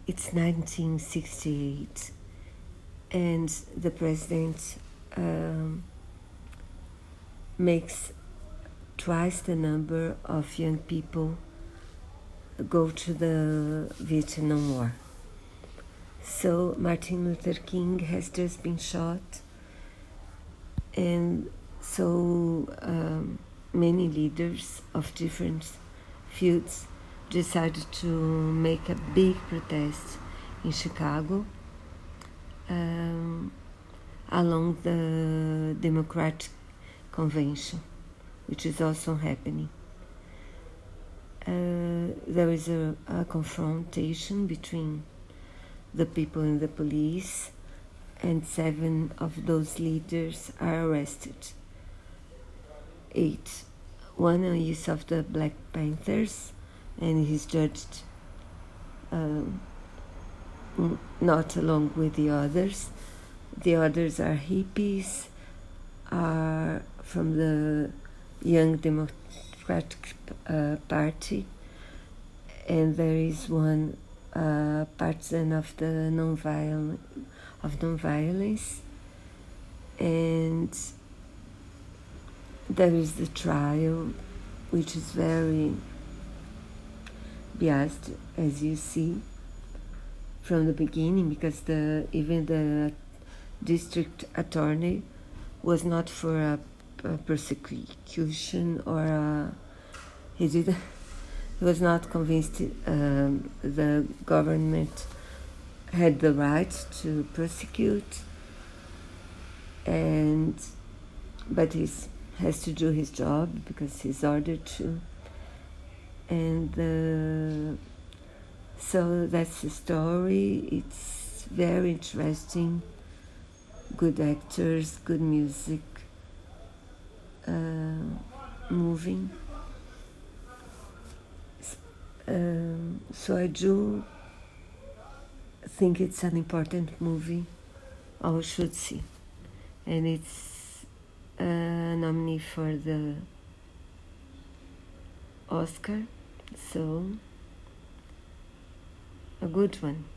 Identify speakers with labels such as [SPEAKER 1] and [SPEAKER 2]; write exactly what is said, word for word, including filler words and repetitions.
[SPEAKER 1] it's nineteen sixty-eight, and the president um, makes twice the number of young people go to the Vietnam War. So Martin Luther King has just been shot, and so um, many leaders of different fields decided to make a big protest in Chicago um, along the Democratic Convention, which is also happening. Uh, there is a, a confrontation between the people and the police, and seven of those leaders are arrested. Eight. One is of the Black Panthers, and he's judged um, not along with the others. The others are hippies, are from the Young Democratic uh, Party, and there is one uh, partisan of the non-violence, of non-violence, and there is the trial, which is very biased, as you see from the beginning, because the even the district attorney was not for a, a persecution or a, he did he was not convinced um, the government had the right to prosecute, and but he has to do his job because he's ordered to. And uh, so that's the story. It's very interesting, good actors, good music, uh, moving. Um, so I do think it's an important movie, all should see. And it's a nominee for the Oscar, so a good one.